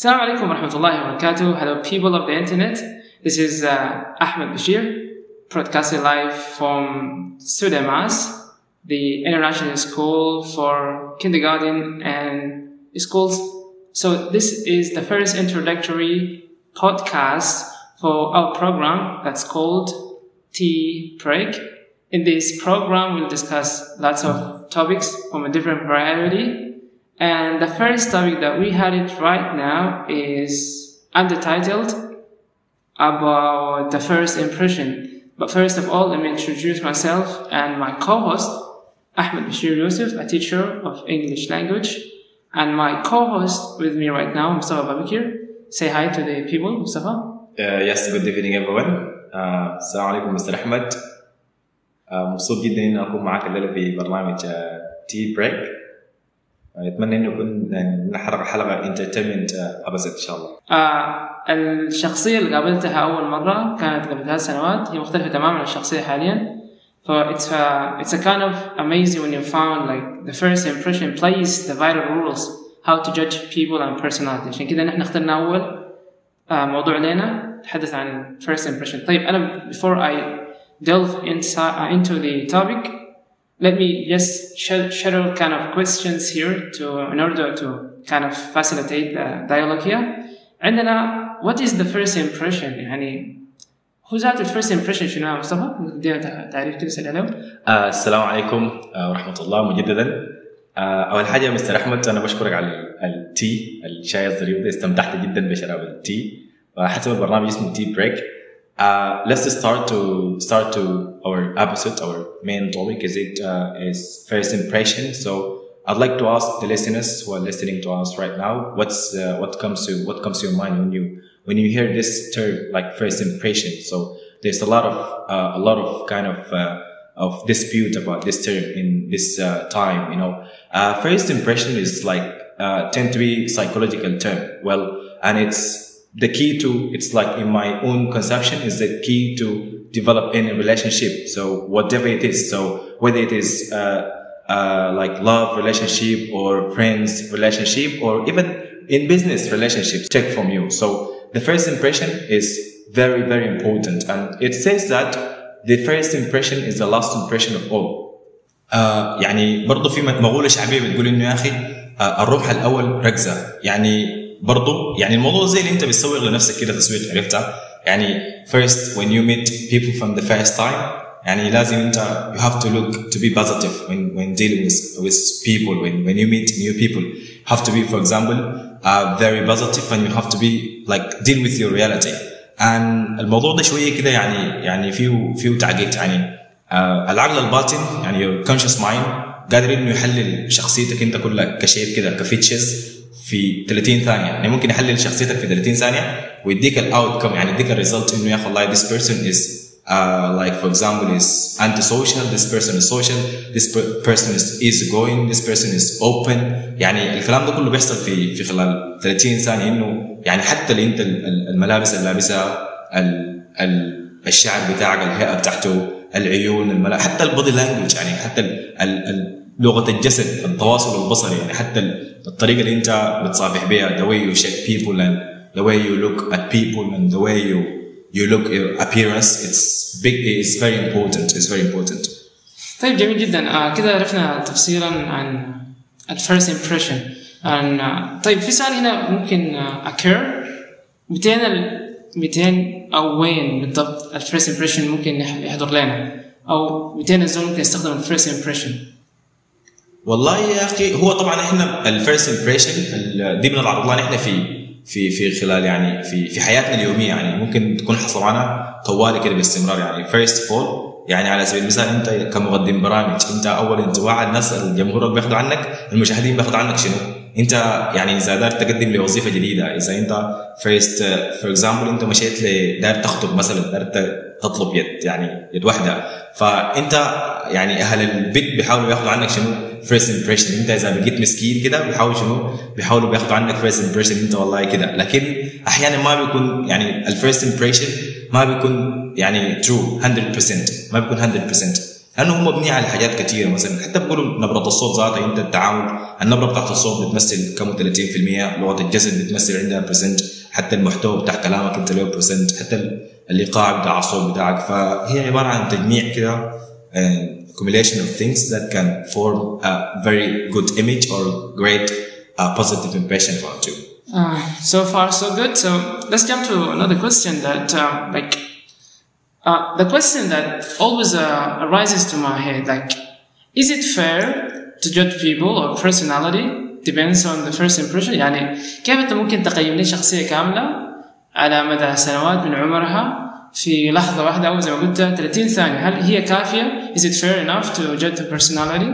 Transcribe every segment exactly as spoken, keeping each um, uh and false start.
Assalamu alaikum wa rahmatullahi wa barakatuh. Hello people of the internet. This is uh, Ahmed Bashir, broadcasting live from Sudamas, the international school for kindergarten and schools. So this is the first introductory podcast for our program that's called Tea Break. In this program, we'll discuss lots of topics from a different variety. And the first topic that we had it right now is undertitled about the first impression. But first of all, let me introduce myself and my co-host, Ahmed Bashir Yusuf, a teacher of English language. And my co-host with me right now, Mustafa Babakir. Say hi to the people, Mustafa. Uh, yes, good evening everyone. Uh, Assalamu alaikum, Mister Ahmed. مبسوط جدا اني اكون معك الليله في برنامج تي بريك. اتمنى انه يكون نحرق حلقه انترتينمنت ابسط ان شاء الله. آه الشخصيه اللي قابلتها اول مره كانت قبل ثلاث سنوات، هي مختلفه تماما عن الشخصيه حاليا. ف it's a, it's a kind of amazing when you found like the first impression plays the vital rules how to judge people and personality. عشان كده نحن اخترنا اول آه موضوع لنا نتحدث عن first impression. طيب انا before I delve inside, uh, into the topic, let me just share kind of questions here to in order to kind of facilitate the dialogue here. عندنا what is the first impression؟ يعني هو ذات ال first impression شنو يا مصطفى؟ نديها تعريف كده سريع له. السلام عليكم ورحمة الله مجددا. أول حاجة مستر أحمد أنا بشكرك على التي الشاي الظريف ده، استمتعت جدا بشراب التي وحسب البرنامج اسمه تي بريك. Uh, let's start to start to our episode. Our main topic is it uh, is first impression. So I'd like to ask the listeners who are listening to us right now, what's uh, what comes to what comes to your mind when you when you hear this term like first impression. So there's a lot of uh, a lot of kind of uh, of dispute about this term in this uh, time. You know, uh, first impression is like uh, tend to be psychological term. Well, and it's the key to, it's like in my own conception, is the key to develop any relationship. So whatever it is, so whether it is uh, uh, like love relationship or friends relationship or even in business relationships, take from you. So the first impression is very, very important. And it says that the first impression is the last impression of all. Uh, يعني برضو في مقولة شعبية بتقول إنه يا أخي uh, الربح الأول ركزة. يعني برضو يعني الموضوع زي اللي انت بتسوق لنفسك كده تسويق، عرفتها؟ يعني first when you meet people from the first time يعني لازم انت you have to look to be positive when when dealing with with people. when when you meet new people you have to be for example uh, very positive and you have to be like deal with your reality. and الموضوع ده شويه كده يعني يعني فيه فيه تعقيد. يعني uh, العقل الباطن يعني your conscious mind قادر انه يحلل شخصيتك انت كلها كشيء كده كفيتشرز في ثلاثين ثانية. يعني ممكن يحلل شخصيتك في ثلاثين ثانية ويديك الاوتكم، يعني يديك الريزلت انه يا اخي والله this person is uh, like for example is antisocial, this person is social, this person is easygoing, this person is open. يعني الكلام ده كله بيحصل في في خلال ثلاثين ثانية. انه يعني حتى اللي انت الملابس اللي لابسها، الشعر بتاعك، الهيئة بتاعته، العيون، الملابس، حتى البودي لانجوج، يعني حتى ال ال لغة الجسد، التواصل البصري، يعني حتى الطريقة اللي أنت بتصافح بها، the way you shake people and the way you look at people and the way you you look your appearance, it's big, it's very important, it's very important. طيب جميل جدا. آه كده عرفنا تفصيلا عن ال first impression. عن آه طيب في سؤال هنا ممكن آه occur مئتين مئتين أو وين بالضبط ال first impression ممكن يحضر لنا، أو مئتين الزول ممكن يستخدم ال first impression؟ والله يا اخي هو طبعا احنا الفيرست امبريشن دي بنلعب لها احنا في في في خلال يعني في في حياتنا اليوميه، يعني ممكن تكون حصل معنا طوالي كده باستمرار. يعني فيرست فول يعني على سبيل المثال انت كمقدم برامج، انت اول انطباع الناس الجمهور بياخذوا عنك، المشاهدين بياخذوا عنك شنو؟ انت يعني اذا دار تقدم لوظيفه جديده، اذا انت فيرست فور اكزامبل انت مشيت لدار تخطب مثلا، دار تطلب يد يعني يد واحده، فانت يعني اهل البيت بيحاولوا ياخذوا عنك شنو؟ first impression. انت اذا بقيت مسكين كده بيحاولوا شنو؟ بيحاولوا بياخذوا عنك first impression انت والله كده. لكن احيانا ما بيكون يعني ال first impression ما بيكون يعني true one hundred percent، ما بيكون one hundred percent. لانه هو مبني على حاجات كثيره. مثلا حتى بيقولوا نبره الصوت ذاتها، انت التعامل النبره بتاعت الصوت بتمثل كم ثلاثين بالمية، لغه الجسد بتمثل عندها برسنت، حتى المحتوى بتاع كلامك انت له برسنت، حتى الايقاع بتاع الصوت بتاعك. فهي عباره عن تجميع كده accumulation of things that can form a very good image or great uh, positive impression about you. Uh, so far so good. So let's jump to another question that uh, like uh, the question that always uh, arises to my head, like, is it fair to judge people or personality depends on the first impression؟ يعني كيف انت ممكن تقيم لي شخصية كاملة على مدى سنوات من عمرها في لحظة واحدة أو زي ما قلت ثلاثين ثانية؟ هل هي كافية؟ Is it fair enough to judge the personality?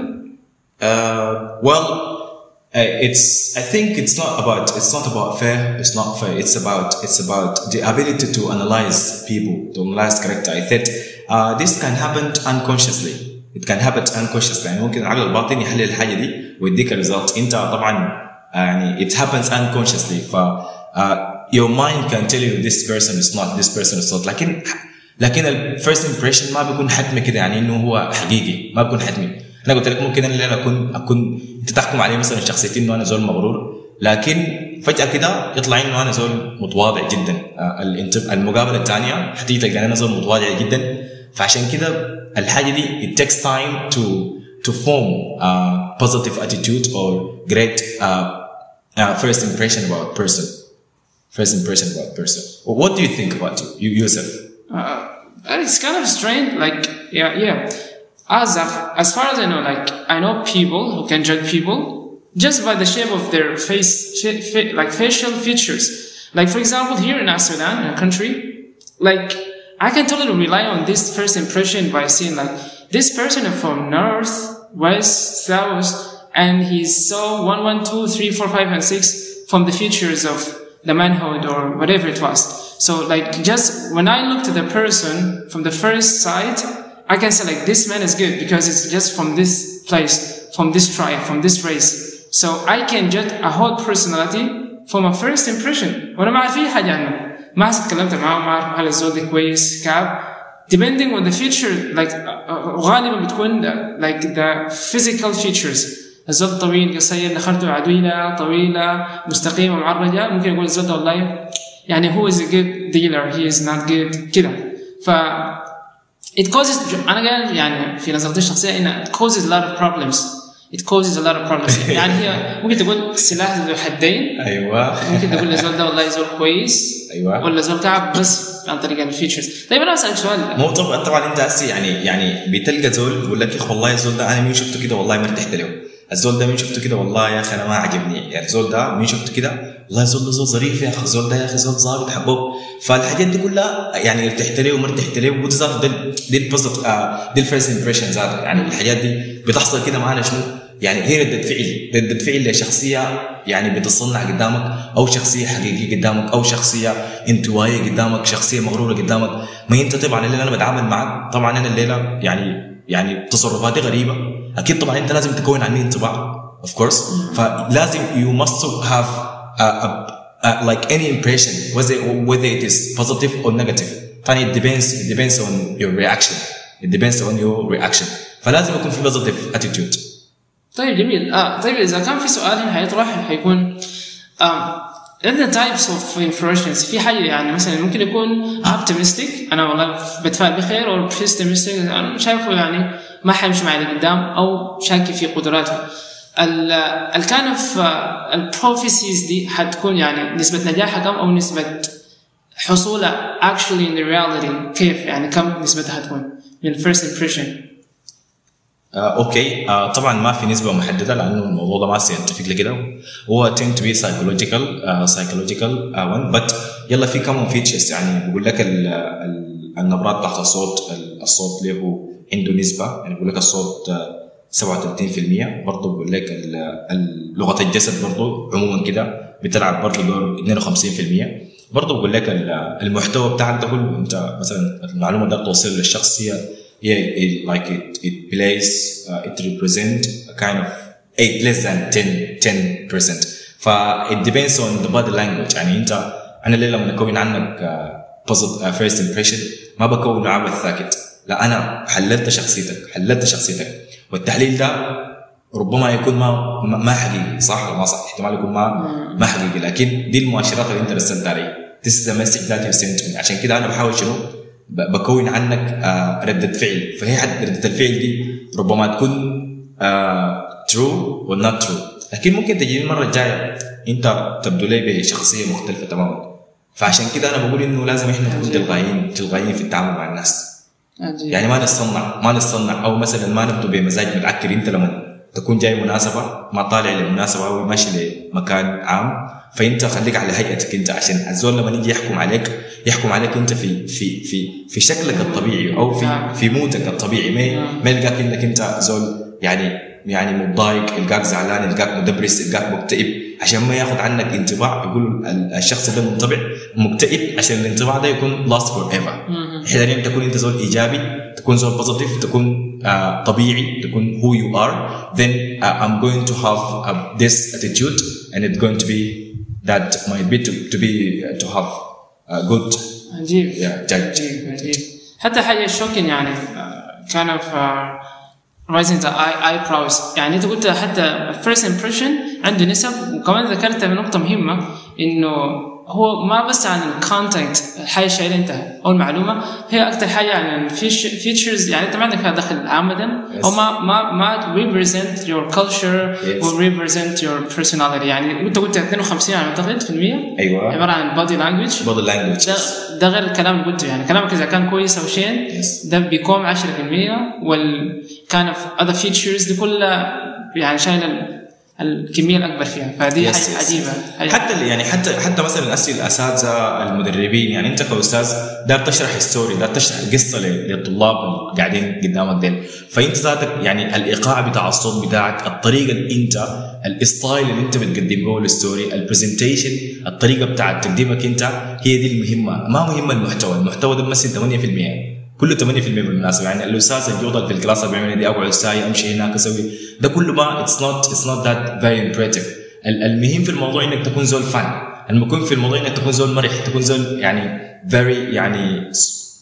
Uh, well, uh, it's. I think it's not about. It's not about fair. It's not fair. It's about. It's about the ability to analyze people, to analyze character. I think uh, this can happen unconsciously. It can happen unconsciously. يعني ممكن العقل الباطن يحلل الحاجة دي ويديك الريزلت. أنت طبعا يعني it happens unconsciously. ف uh, your mind can tell you this person is not, this person is not. لكن لكن ال first impression ما بيكون حتمي كده، يعني إنه هو حقيقي، ما بيكون حتمي. أنا قلت لك ممكن أنا أكون أكون أنت تحكم عليه مثلا شخصيتي إنه أنا زول مغرور، لكن فجأة كده يطلع إنه أنا زول متواضع جدا. المقابلة الثانية حتيجي تلقى أنا زول متواضع جدا. فعشان كده الحاجة دي it takes time to to form a positive attitude or great uh, uh, first impression about a person. First impression about a person. What do you think about you, Yusuf? Uh, it's kind of strange. Like, yeah, yeah. As as far as I know, like I know people who can judge people just by the shape of their face, fa- like facial features. Like, for example, here in Sudan, in a country, like I can totally rely on this first impression by seeing like this person is from north, west, south, and he's so one, one, two, three, four, five, and six from the features of the manhood or whatever it was. So like just when I look to the person from the first sight, I can say like this man is good because it's just from this place, from this tribe, from this race. So I can judge a whole personality from a first impression. وانا ما اعرف اي حاجه عنه، ما اتكلمت معاه، ما اعرف هل الزول ده كويس كاب depending on the feature. like غالبا بتكون like the physical features. الزول طويل قصير نخرته عدويلة طويلة مستقيمة معرجة، ممكن يقول الزول ده والله يعني هو is a good dealer, he is not good كده. ف it causes أنا قال يعني في نظرتي الشخصية إنه it causes a lot of problems. it causes a lot of problems. يعني هي ممكن تقول سلاح ذو حدين. أيوة. ممكن تقول الزول ده والله زول كويس. أيوة. ولا زول تعب بس عن طريق الفيتشرز. طيب أنا أسألك سؤال. مو طبعا طبعا أنت هسي يعني يعني بتلقى زول يقول لك يا أخي والله الزول ده أنا مين شفته كده والله ما ارتحت له. الزول ده مين شفته كده والله يا أخي أنا ما عجبني. يعني الزول ده مين شفته كده والله الزول ده زول ظريف يا أخي، الزول ده يا أخي زول ظابط حبوب. فالحاجات دي كلها يعني ارتحت له وما ارتحت له ودي ذات دي دي البوزيتيف دي الفيرست امبريشن ذات. يعني الحاجات دي بتحصل كده معانا شنو؟ يعني هي ردة فعل ردة فعل لشخصية يعني بتصنع قدامك، أو شخصية حقيقية قدامك، أو شخصية انطوائية قدامك، شخصية مغرورة قدامك. ما أنت طبعا الليلة أنا بتعامل معك طبعا أنا الليلة يعني يعني تصرفاتي غريبة، أكيد طبعا أنت لازم تكون عني انطباع of course. فلازم you must have a, a, a, like any impression whether whether it is positive or negative. ثاني it depends it depends on your reaction it depends on your reaction. فلازم يكون في positive attitude. طيب جميل. آه طيب إذا كان في سؤال هنا حيطرح حيكون آه عندنا types of impressions. في حاجة يعني مثلا ممكن يكون optimistic أنا والله بتفائل بخير، أو pessimistic أنا شايفه يعني ما حيمشي معي لقدام أو شاك في قدراته. ال ال kind of ال prophecies دي حتكون يعني نسبة نجاحها كم أو نسبة حصولها actually in the reality كيف، يعني كم نسبتها حتكون من first impression؟ آه، اوكي آه، طبعا ما في نسبه محدده لانه الموضوع ده ما سينتفك لكده، هو tend to be psychological uh, psychological uh, one but يلا في كم فيتشرز. يعني بقول لك ال ال النبرات تحت الصوت، الصوت له عنده نسبه، يعني بقول لك الصوت سبعة وثلاثين بالمية، برضه بقول لك لغه الجسد برضه عموما كده بتلعب برضه دور اثنين وخمسين بالمية، برضه بقول لك المحتوى بتاعك ده كله انت مثلا المعلومه ده توصل للشخص هي yeah it, like it it plays uh, it represent a kind of eight less than ten percent. ف it depends on the body language. يعني انت انا اللي لما اكون عنك uh, positive uh, first impression ما بكون عامل ساكت، لا أنا حللت شخصيتك حللت شخصيتك والتحليل ده ربما يكون ما ما حقيقي صح ولا ما صح احتمال يكون ما ما حقيقي لكن دي المؤشرات اللي انت رسلت عليه this is the message that you sent me عشان كده انا بحاول شنو بكون عنك آه ردة فعل فهي ردة الفعل دي ربما تكون آه true or not true لكن ممكن تجي المرة الجاية انت تبدو لي بشخصية مختلفة تماما فعشان كده انا بقول انه لازم احنا نكون تلقائيين تلقائيين في التعامل مع الناس أجيب. يعني ما نصنع ما نصنع او مثلا ما نبدو بمزاج متعكر انت لما تكون جاي مناسبة ما طالع لمناسبة أو ماشي لمكان عام فأنت خليك على هيئتك أنت عشان الزول لما يجي يحكم عليك يحكم عليك أنت في في في في شكلك الطبيعي أو في في مودك الطبيعي ما ما يلقاك إنك أنت زول يعني يعني متضايق يلقاك زعلان يلقاك مدبرس يلقاك مكتئب عشان ما ياخذ عنك انطباع يقول الشخص ده منطبع مكتئب عشان الانطباع ده يكون lost forever حين تكون أنت زول إيجابي تكون زول بوزيتيف تكون Uh, طبيعي تكون who you are then uh, I'm going to have uh, this attitude and it's going to be that might be to, to be uh, to have a good عجيب yeah, عجيب عجيب حتى حاجة شوكين يعني uh, kind of uh, raising the eye, eyebrows يعني أنت قلت حتى first impression عنده نسب وكمان ذكرت نقطة مهمة إنه هو ما بس عن الكونتنت الحاجة الشيء انت او المعلومة هي اكثر حاجة عن الفيتشرز يعني انت ما عندك فيها دخل عامة yes. او ما ما ما represent your culture yes. or represent your personality يعني انت قلت اثنين وخمسين على اعتقد في المية ايوه عبارة عن body language body language ده, ده غير الكلام اللي قلته يعني كلامك اذا كان كويس او شيء yes. ده بيكون عشرة في المية وال kind of other features دي كلها يعني شايله الكمية الأكبر فيها فدي حاجة عجيبة حتى يعني حتى حتى مثلا الأسئلة الأساتذة المدربين يعني أنت كأستاذ دار تشرح ستوري دار تشرح القصة للطلاب قاعدين قدامك ديل فأنت ذاتك يعني الإيقاع بتاع الصوت بتاعك الطريقة اللي أنت الستايل اللي أنت بتقدم به الستوري البرزنتيشن الطريقة بتاعت تقديمك أنت هي دي المهمة ما مهمة المحتوى المحتوى ده بمثل ثمانية في المية كله ثمانية في المية بالمناسبة يعني الأستاذ اللي يفضل في الكلاس بيعمل دي أقعد ساعة أمشي هناك أسوي ده كله ما it's not it's not that very impressive المهم في الموضوع إنك تكون زول فن المهم في الموضوع إنك تكون زول مرح تكون زول يعني very يعني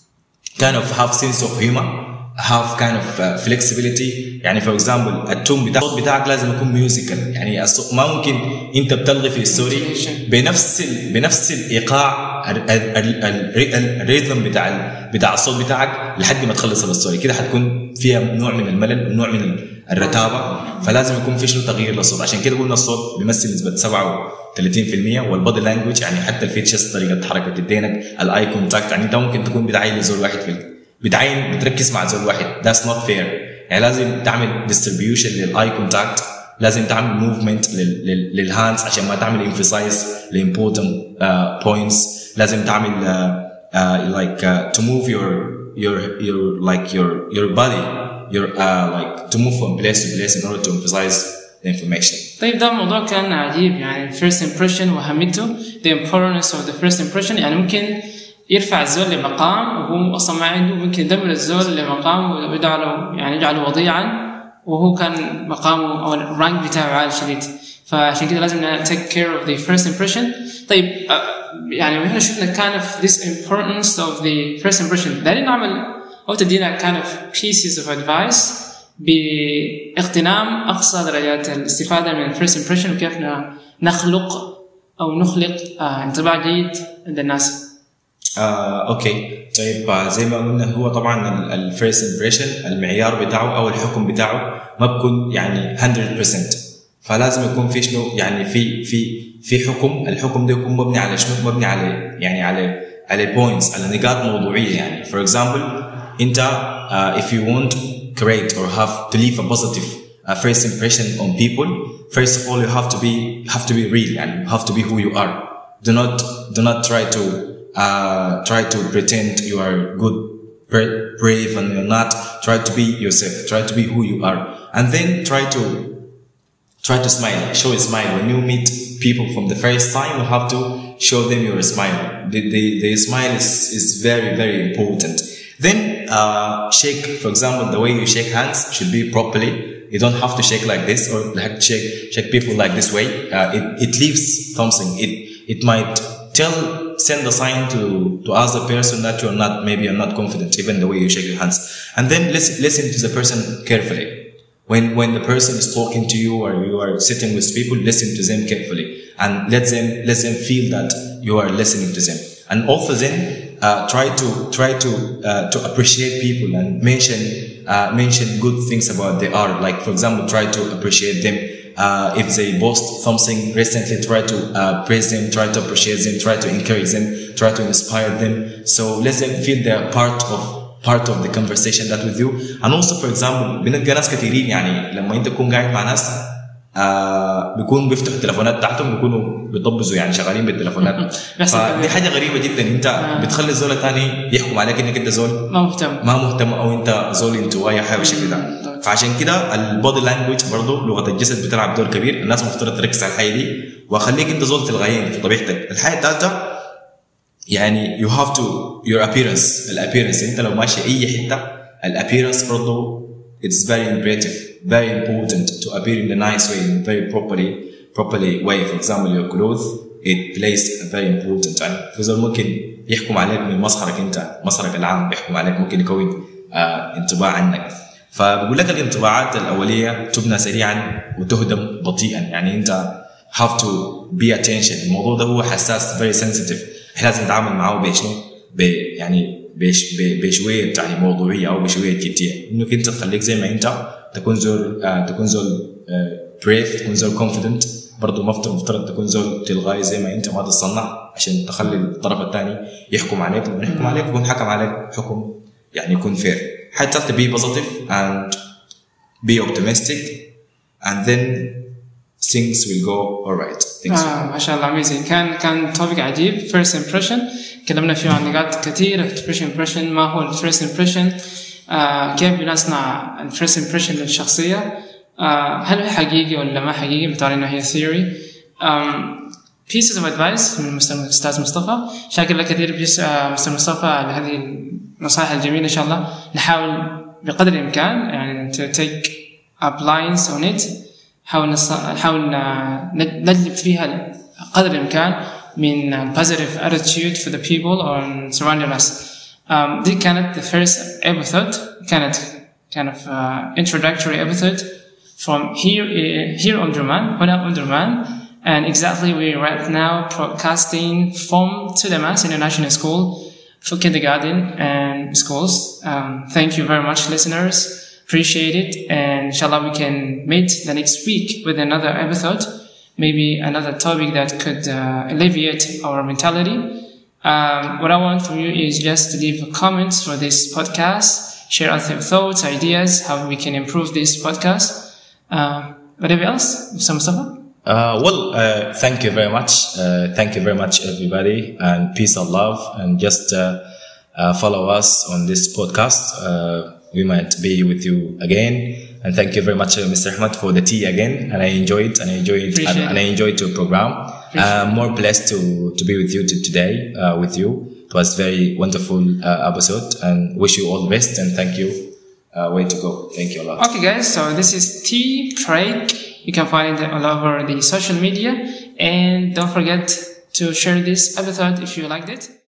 kind of have sense of humor have kind of uh, flexibility يعني for example التون بتاع الصوت بتاعك لازم يكون ميوزيكال يعني ما ممكن أنت بتلغي في الستوري بنفس ال بنفس الإيقاع الريتم بتاع بتاع الصوت بتاعك لحد ما تخلص الستوري كده حتكون فيها نوع من الملل ونوع من الرتابة فلازم يكون في شنو تغيير للصوت عشان كده قلنا الصوت بيمثل نسبة سبعة وثلاثين في المية والبودي لانجوج يعني حتى الفيتشرز طريقة حركة يدينك الاي كونتاكت يعني انت ممكن تكون بتعين لزول واحد في بتعين بتركز مع زول واحد that's not fair يعني لازم تعمل distribution للاي كونتاكت لازم تعمل موفمنت للهاندز عشان ما تعمل emphasize لimportant uh, points لازم تعمل uh, uh, like uh, to move your your your like your your body your uh, like to move from place to place in order to emphasize the information. طيب ده الموضوع كان عجيب يعني first impression وأهميته the importance of the first impression يعني ممكن يرفع الزول لمقام وهو أصلا ما عنده ممكن يدمر الزول لمقام ويجعله يعني يجعله وضيعا وهو كان مقامه أو الرانك بتاعه عالي شديد فعشان كده لازم take care of the first impression. طيب يعني احنا شفنا kind of this importance of the first impression دارين نعمل أو تدينا kind of pieces of advice باغتنام أقصى درجات الاستفادة من first impression وكيف نخلق أو نخلق انطباع جيد عند الناس. آه، أوكي طيب زي ما قلنا هو طبعا الفيرست امبريشن المعيار بتاعه أو الحكم بتاعه ما بكون يعني مية بالمية فلازم يكون في شنو يعني في في في حكم الحكم ده يكون مبني على شنو مبني على يعني على على بوينتس على نقاط موضوعية يعني for example أنت uh, if you want to create or have to leave a positive uh, first impression on people first of all you have to be have to be real and you have to be who you are do not do not try to Uh, try to pretend you are good, brave, and you're not. Try to be yourself. Try to be who you are, and then try to try to smile. Show a smile when you meet people from the first time. You have to show them your smile. The the, the smile is is very very important. Then uh, shake. For example, the way you shake hands should be properly. You don't have to shake like this or like shake shake people like this way. Uh, it it leaves something. It it might tell send a sign to to ask the person that you're not maybe you're not confident, even the way you shake your hands. And then listen listen to the person carefully. When when the person is talking to you or you are sitting with people, listen to them carefully and let them let them feel that you are listening to them. And also then uh, try to try to uh, to appreciate people and mention uh, mention good things about they are. Like for example, try to appreciate them. Uh, if they post something recently, try to uh, praise them, try to appreciate them, try to encourage them, try to inspire them. So let them feel they're part of part of the conversation that with you. And also for example بنلقى ناس كثيرين يعني لما انت تكون قاعد مع ناس آه بيكونوا بيفتحوا التلفونات بتاعتهم بيكونوا بيطبزوا يعني شغالين بالتلفونات. فدي حاجه غريبه جدا. انت آه. بتخلي الزول الثاني يحكم عليك انك انت زول ما مهتم ما مهتم او انت زول انطوائي حاجه بالشكل ده. فعشان كده البودي لانجويج برضه لغه الجسد بتلعب دور كبير. الناس مفترض تركز على الحاجه دي وخليك انت زول تلغاين في طبيعتك. الحاجه الثالثه يعني you have to your appearance. الابيرنس انت لو ماشي اي حته الابيرنس برضه it's very imperative, very important to appear in a nice way, in a very properly properly way. For example, your clothes it plays a very important. يعني في زول ممكن يحكم عليك من مظهرك انت، مظهرك العام يحكم عليك، ممكن يكون آه انطباع عنك. فبقول لك الانطباعات الاوليه تبنى سريعا وتهدم بطيئا. يعني انت have to be attention. الموضوع ده هو حساس very sensitive. احنا لازم نتعامل معه بشنو يعني بش بشويه يعني موضوعيه او بشويه جديه. انك انت تخليك زي ما انت تكون زول آه تكون زول بريف آه تكون زول كونفيدنت. برضه مفترض مفترض تكون زول تلغاي زي ما انت ما تتصنع عشان تخلي الطرف الثاني يحكم عليك. لما يحكم عليك يكون حكم عليك حكم يعني يكون فير. حتى to be positive and be optimistic and then things will go alright. آه ما شاء الله amazing. كان كان topic عجيب. first impression تكلمنا فيه عن نقاط كثيرة. first impression ما هو first impression آه كيف بنصنع first impression للشخصية آه هل هو حقيقي ولا ما حقيقي بتعرف إنه هي theory. um, pieces of advice من الأستاذ مصطفى. شاكر لك كثير بيس آه مستر مصطفى لهذه النصائح الجميلة. إن شاء الله نحاول بقدر الإمكان يعني to take up lines on it. حاول نص... حاول نجلب فيها قدر الإمكان من positive attitude for the people or surrounding us. Um, دي كانت the first episode. كانت kind of uh, introductory episode from here uh, here on Durman, هنا on Durman, and exactly we're right now broadcasting from Sudamas International School for kindergarten and schools. Um, thank you very much, listeners. Appreciate it, and inshallah we can meet the next week with another episode, maybe another topic that could uh, alleviate our mentality. Um, what I want from you is just to leave comments for this podcast, share out your thoughts, ideas, how we can improve this podcast. Uh, whatever else, Mister Mustafa? Uh, well, uh, thank you very much. Uh, thank you very much, everybody, and peace and love, and just uh, uh, follow us on this podcast. Uh, We might be with you again, and thank you very much, uh, Mister Ahmed, for the tea again. And I enjoyed, and I enjoyed, and, and I enjoyed your program. I'm more blessed to to be with you to today. Uh, with you, it was very wonderful uh, episode, and wish you all the best. And thank you. Uh, way to go. Thank you a lot. Okay, guys. So this is Tea Break. You can find it all over the social media, and don't forget to share this episode if you liked it.